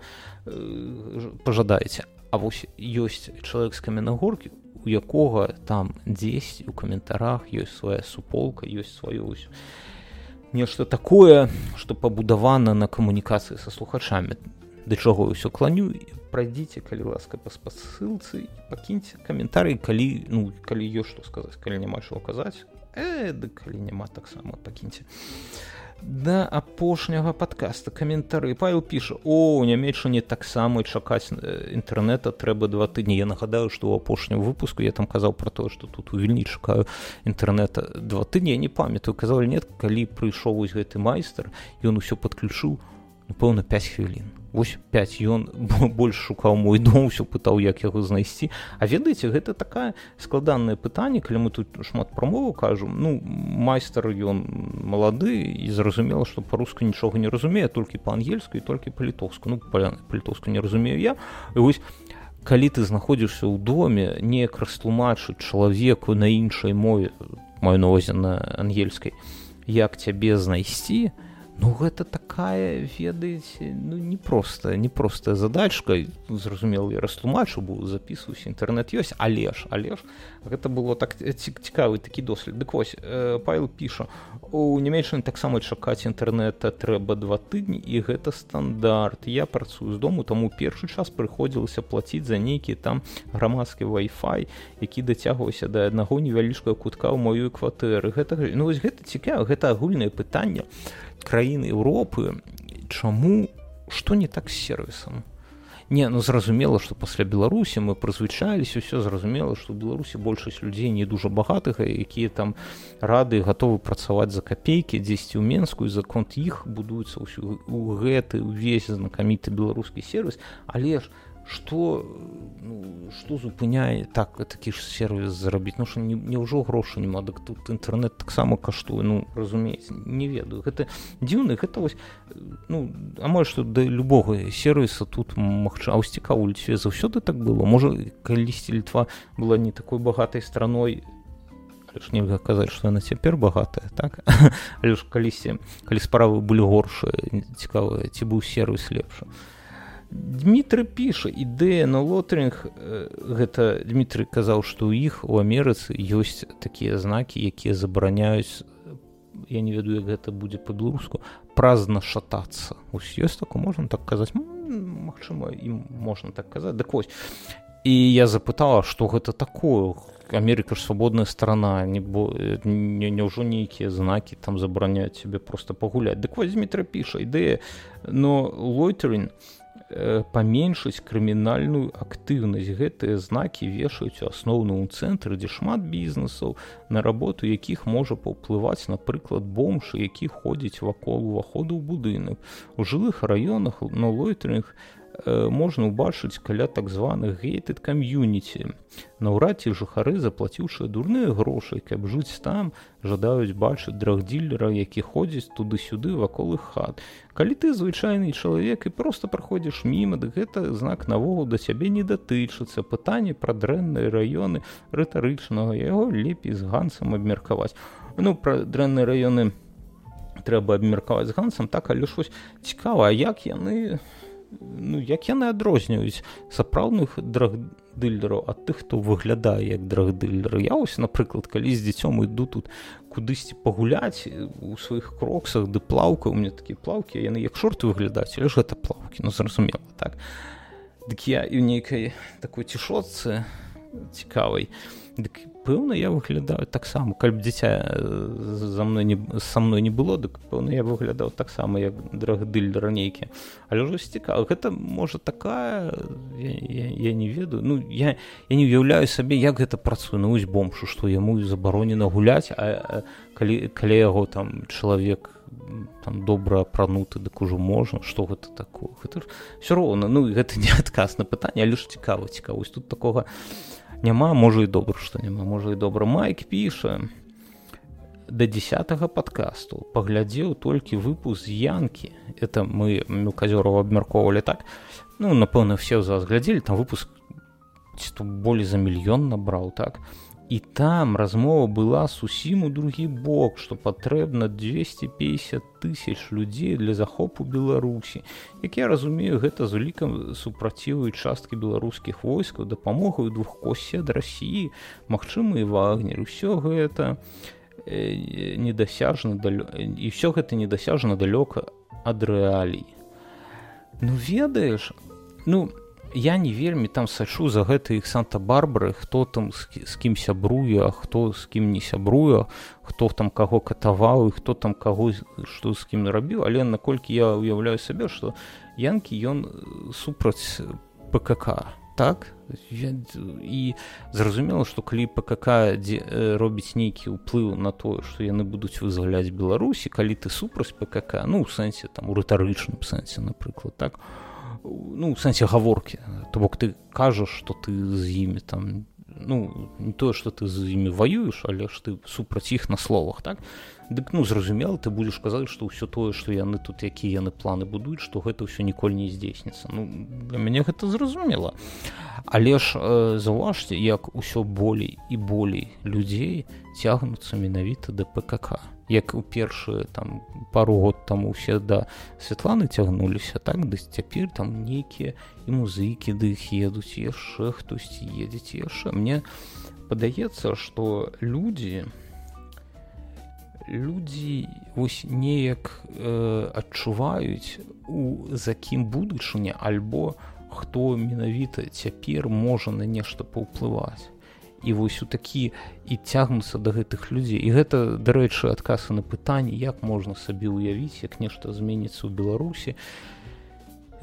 пажадаеце. А вось ёсць чалавек з Каменнагоркі, у якога там дзесь у каментарах ёсць свая суполка, ёсць сваё нешта такое, што пабудавана на камунікацыі са слухачамі. Да чаго ўсё кланю, прайдзіце, калі ласка, па спасылцы, і пакіньце каментарый, калі ёсць што сказаць, калі няма чаго казаць, калі няма, таксама пакіньце. Да апошняга падкаста каментары. Павел піша: у Нямецчыне таксама чакаць інтэрнэта трэба 2 тыдні. Я нагадаю, што ў апошнім выпуску я там казаў пра тое, што тут у Вільні чакаю інтэрнэта 2 тыдні. Я не памятаю, казаў нет, калі прыйшоў вось гэты майстар, ён усё падключыў, напэўна, 5 хвілін. Вось 5, ён больш шукаў мой дом, усё пытаў, як яго знайсці. А ведаеце, гэта такая складанае пытанне, калі мы тут шмат пра мову кажам. Ну, майстар, ён малады, і зразумела, што па-руску нічога не разумее, толькі па-ангельску і толькі па-літоўску. Ну, па-літоўску не разумею я. І вось, калі ты знаходзішся ў доме, неяк растлумачыць чалавеку на іншай мове, маю на ўвазе на ангельскай, як цябе знайсці, ну, гэта такая, ведаеце, ну, непростая задачка. Зразумела, я растлумачу, бо запісваюся, інтэрнэт ёсць, але ж, гэта было так цікавы такі дослед. Дык вось, Павел піша: у Нямецчыне таксама чакаць інтэрнэта трэба 2 тыдні, і гэта стандарт. Я працую з дому, таму першы час прыходзілася плаціць за нейкі там грамадскі Wi-Fi, які дацягваўся да аднаго невялічкага кутка ў маёй кватэры. Ну, вось гэта цікава, гэта агульнае пытанне краіны Еўропы, чаму, што не так з сервісам? Не, ну зразумела, што пасля Беларусі мы прызвычаіліся, ўсё зразумела, што ў Беларусі большасць людзей не дужа багатых, якія там рады гатовы працаваць за капейкі дзесьці ў Менску, і за конт іх будуецца ў гэты ўвесь знакаміты беларускі сервіс, але ж што зупыняе такі ж сервіс зарабіць? Ну, што няўжо грошы няма, дык тут інтэрнэт таксама каштуе, ну, разумееце, не ведаю. Гэта дзіўна, гэта вось, ну, амаль што да любога сервіса тут магчыма. А вось цікава, у Літве заўсёды так было? Можа, калісьці Літва была не такой багатай страной, але ж нельга казаць, што яна цяпер багатая, так? Але ж калі справы былі горшыя, цікава, ці быў сервіс лепшы. Дмітрый піша, ідэя на лотеринг, гэта Дмітрый казаў, што ў іх у Амерыцы ёсць такія знакі, якія забараняюць, я не ведаю, як гэта будзе па-беларуску, празна шатацца. Ось ёсць такое, можна так казаць? Магчыма, і можна так казаць. Дык вось. І я запытала, што гэта такое? Амерыка ж свабодная страна, няўжо нейкія знакі там забараняюць цябе проста пагуляць. Дык вось Дмітрый піша, ідэя, но лотеринг паменшыць крымінальную актыўнасць. Гэтыя знакі вешаюць у асноўным цэнтры, дзе шмат бізнесаў, на работу якіх можа паўплываць, напрыклад, бомж, які ходзіць вакол уваходу ў будынак. У жылых раёнах на лойтэрінг можна ўбачыць каля так званых gated community. Наўрад ці жыхары, заплаціўшы дурныя грошы, каб жыць там, жадаюць бачыць драгдзілера, які ходзіць туды-сюды вакол іх хат. Калі ты звычайны чалавек і проста праходзіш міма, дык гэта знак наогул да цябе не датычыцца. Пытанне пра дрэнныя раёны рытарычнага, яго лепей з Гансам абмеркаваць. Ну, пра дрэнныя раёны трэба абмеркаваць з Гансам, так, але ж вось цікава, а як яны адрозніваюць сапраўдных драгдылераў ад тых, хто выглядае як драгдылер. Я ось, напрыклад, калі з дзіцём іду тут кудысьці пагуляць у сваіх кроксах ды плаўка, у мяне такія плаўкі, яны як шорты выглядаюць, але ж гэта плаўкі, ну зразумела, так. Дык я і ў нейкай такой цішотцы цікавай, дык пэўна я выглядаю таксама, калі б дзіця са мной не было, дык пэўна я выглядаў таксама як драгдылер нейкі. Але ўжо цікава, гэта можа такая, я не ведаю, ну я не ўяўляю сабе, як гэта працуе. Ну вось бомжу, што яму забаронена гуляць, а калі яго там чалавек там добра апрануты, дык ужо можна, што гэта такое? Гэта ж ўсё роўна, ну гэта не адказ на пытанне, але ж цікава, вось тут такога няма, можа і добра, што няма, можа і добра. Майк піша, да 10-го падкасту паглядзеў толькі выпуск з Янкі. Это мы Мелказёрова абмяркоўвалі, так? Ну, напэўна, все з вас глядзелі, там выпуск болей за 1 мільён набраў, так? І там размова была зусім у другі бок, што патрэбна 250 000 людзей для захопу Беларусі. Як я разумею, гэта з улікам супраціву часткі беларускіх войскаў, дапамогаю двухкосці ад Расіі, магчыма і Вагнер. Усё гэта недасяжна далёка ад рэалій. Ну, ведаеш, ну, я не вельмі там сачу за гэтай іх Санта-Барбары, хто там з кім сябруе, а хто з кім не сябруе, хто там каго катаваў і хто там каго што з кім рабіў, але наколькі я ўяўляю сабе, што Янкі ён супраць ПКК, так? І зразумела, што калі ПКК робіць нейкі ўплыў на тое, што яны будуць вызваляць Беларусі, калі ты супраць ПКК, ну, у сэнсе, там, у рытарычным сэнсе, напрыклад, так? Ну, у сэнсе гаворкі, то бок ты кажаш, што ты з імі там, ну, не тое, што ты з імі ваюеш, але ж ты супраць іх на словах, так? Дык, ну, зразумела, ты будзеш казаць, што ўсё тое, што яны тут, якія яны планы будуюць, што гэта ўсё ніколі не здзейсніцца. Ну, для мяне гэта зразумела. Але ж заўважце, як усё болей і болей людзей цягнуцца менавіта да ПКК. Як у першыя там пару год таму усе да Святланы цягнуліся, так, да цяпер там нейкія і музыкі да іх едуць, яшчэ хтосьці едзець, яшчэ. Мне падаецца, што людзі вось неяк адчуваюць, за кім будучыня, альбо хто менавіта цяпер можа на нешта паўплываць. І вось у такі і цягнуцца да гэтых людзей. І гэта, дарэчы, адказ на пытанне, як можна сабе ўявіць, як нешта зменіцца ў Беларусі.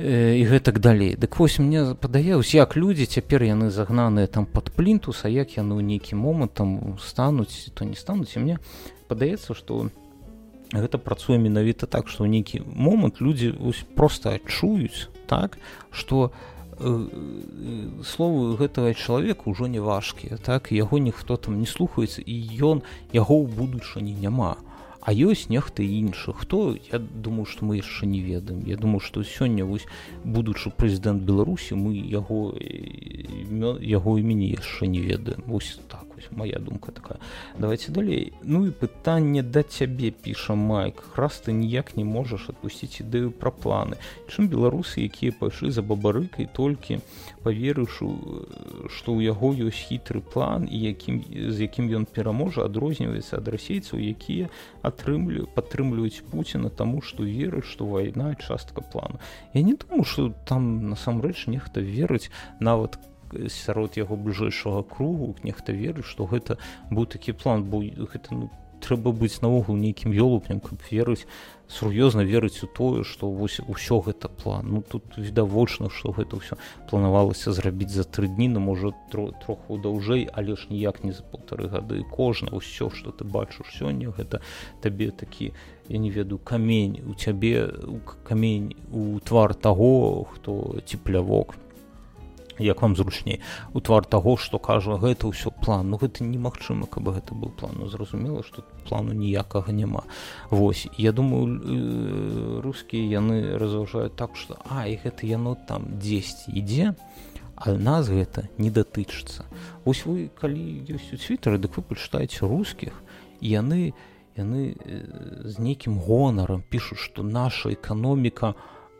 і гэтак далей. Дык вось мне падаецца, як людзі цяпер яны загнаныя там пад плінтус, а як яны ў нейкі момант там стануць, то не стануць. І мне падаецца, што гэта працуе менавіта так, што ў нейкі момант людзі проста адчуюць, так, што словы гэтага чалавека ўжо не важкія, так, яго ніхто там не слухаецца, і яго ў будучыні няма. А ёсць нехта іншы. Хто? Я думаю, што мы яшчэ не ведаем. Я думаю, што сёння вось будучы прэзідэнт Беларусі, мы яго імені яшчэ не ведаем. Вось так вось моя думка такая. Давайте далей. Ну і пытанне да цябе, піша Майк. Раз ты ніяк не можаш адпусціць ідэю пра планы. Чым беларусы, якія пайшлі за бабарыкай, толькі паверыўшы, што ў яго ёсць хітры план, і з якім ён пераможа, адрозніваецца ад расейцаў, якія падтрымліваюць Пуціна таму, што верыць, што вайна частка плану. Я не думаю, што там насамрэч нехта верыць, нават сярод яго бліжэйшага кругу, нехта верыць, што гэта быў такі план, бо гэта трэба быць наогул нейкім ёлупнем, каб верыць, сур'ёзна верыць у тое, што вось усё гэта план. Ну тут відавочна, што гэта ўсё планавалася зрабіць за 3 дні, ну можа троху даўжэй, але ж ніяк не за 1,5 гады. Кожна ўсё, што ты бачыш сёння, гэта табе такі, я не ведаю, камень у цябе, камень у твар таго, хто цеплявок, як вам зручней, у твар таго, што кажа, гэта ўсё план. Ну гэта немагчыма, каб гэта быў план. Ну зразумела, што плану ніякага няма. Вось, я думаю, рускія яны разважаюць так, што і гэта яно там дзесьці ідзе, а нас гэта не датычыцца. Вось вы, калі ёсць у Твіттары, дык вы пачытаеце рускіх, і яны з нейкім гонарам пішуць, што наша эканоміка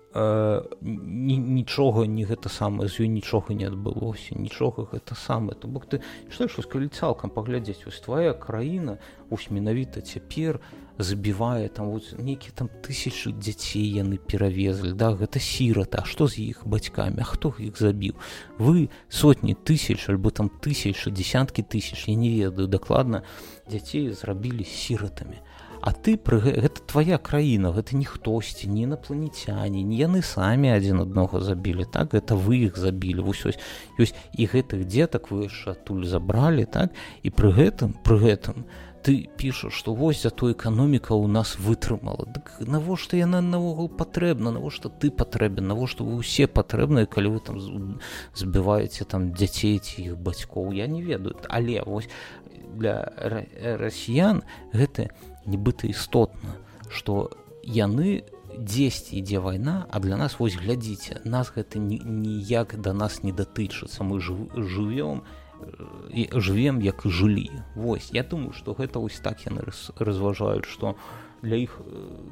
нічога не гэта самае, з ёй нічога не адбылося, нічога гэта самае. То бок ты чытаеш, вось калі цалкам паглядзець, вось твая краіна вось менавіта цяпер забівае там вось нейкі там 1000 дзяцей яны перавезлі, да, гэта сіраты, а што з іх бацькамі, а хто іх забіў? Вы сотні тысяч альбо там тысячы, десяткі тысяч, я не ведаю дакладна, дзяцей зрабілі сіратамі. А ты, гэта твая краіна, гэта не хтосьці, не інапланецяне, не яны самі адзін аднаго забілі, так, гэта вы іх забілі, вось ёсць і гэтых дзетак вы яшчэ адтуль забралі, так, і пры гэтым ты пішаш, што вось зато эканоміка ў нас вытрымала. Дык навошта яна наогул патрэбна, навошта ты патрэбен, навошта вы ўсе патрэбныя, калі вы там збіваеце там дзяцей ці іх бацькоў, я не ведаю, але вось для расіян гэта нібыта істотна, што яны дзесьці ідзе вайна, а для нас, вось глядзіце, нас гэта ніяк да нас не датычыцца, мы жывем, як і жылі. Вось, я думаю, што гэта вось так яны разважаюць, што для іх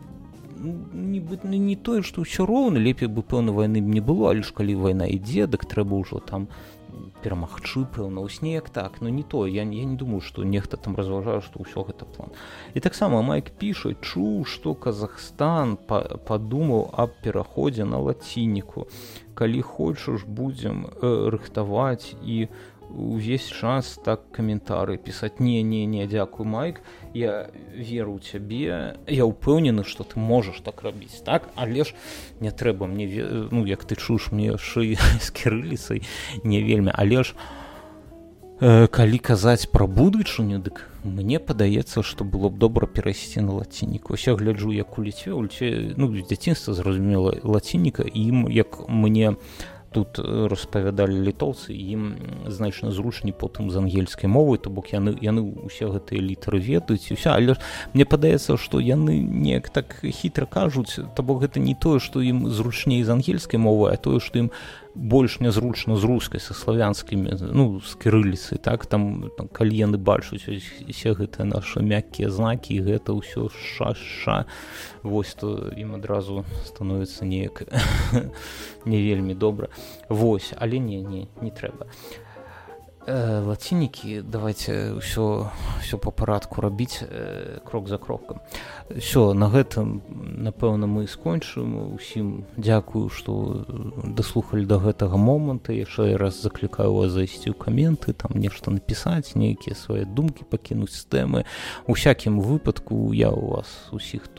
не тое, што ўсё роўна, лепей бы пэўна вайны не было, але ж калі вайна ідзе, дык трэба ўжо там перамагчы, пэўна, ў снег, так, но не то, я не думаю, што нехта там разважае, што ўсё гэта план. І таксама Майк піша, чуў, што Казахстан падумаў аб пераходзе на лацініку. Калі хочаш, будзем рыхтаваць і увесь час так каментары пісаць. Не, дзякуй, Майк, я веру ў цябе, я ўпэўнены, што ты можаш так рабіць, так, але ж не трэба мне, ну, як ты чуеш, мне шыі з кірыліцай не вельмі, але ж калі казаць пра будучыню, дык мне падаецца, што было б добра перайсці на лацініку. Ось я гляджу, як у Літве, ну, з дзяцінства, зразумела, лацініка, і ім, як мне тут распавядалі літоўцы, ім значна зручней потым з ангельскай мовай, то бок яны ўсе гэтыя літары ведаюць і ўсё, але мне падаецца, што яны неяк так хітра кажуць, то бок гэта не тое, што ім зручней з ангельскай мовай, а тое, што ім больш нязручна з рускай, са славянскімі, ну, з кірыліцай, так, там калі яны бачуць усе гэтыя нашы мяккія знакі, і гэта ўсё ша, вось, то ім адразу становіцца неяк не вельмі добра. Вось, але не трэба. Лацінікі, давайте ўсё па парадку рабіць, крок за крокам. Всё, на гэтым, напэўна, мы скончым. Усім дзякую, што даслухалі да гэтага моманту. Яшчэ раз заклікаю вас зайсці ў каменты, там нешта напісаць, нейкія свае думкі пакінуць з тэмы. У всякім выпадку я у вас усіх тут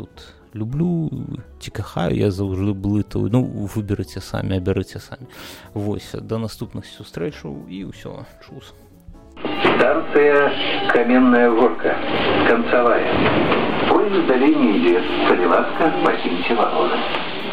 люблю ці кахаю я заўжды блытаю. Ну, выберыце самі, абярыце самі. Вось, да наступных сустрэчаў і ўсё, чус.
Станция Каменная Горка, концевая. Поезд в долине идет. Солеватка, покиньте вагоны.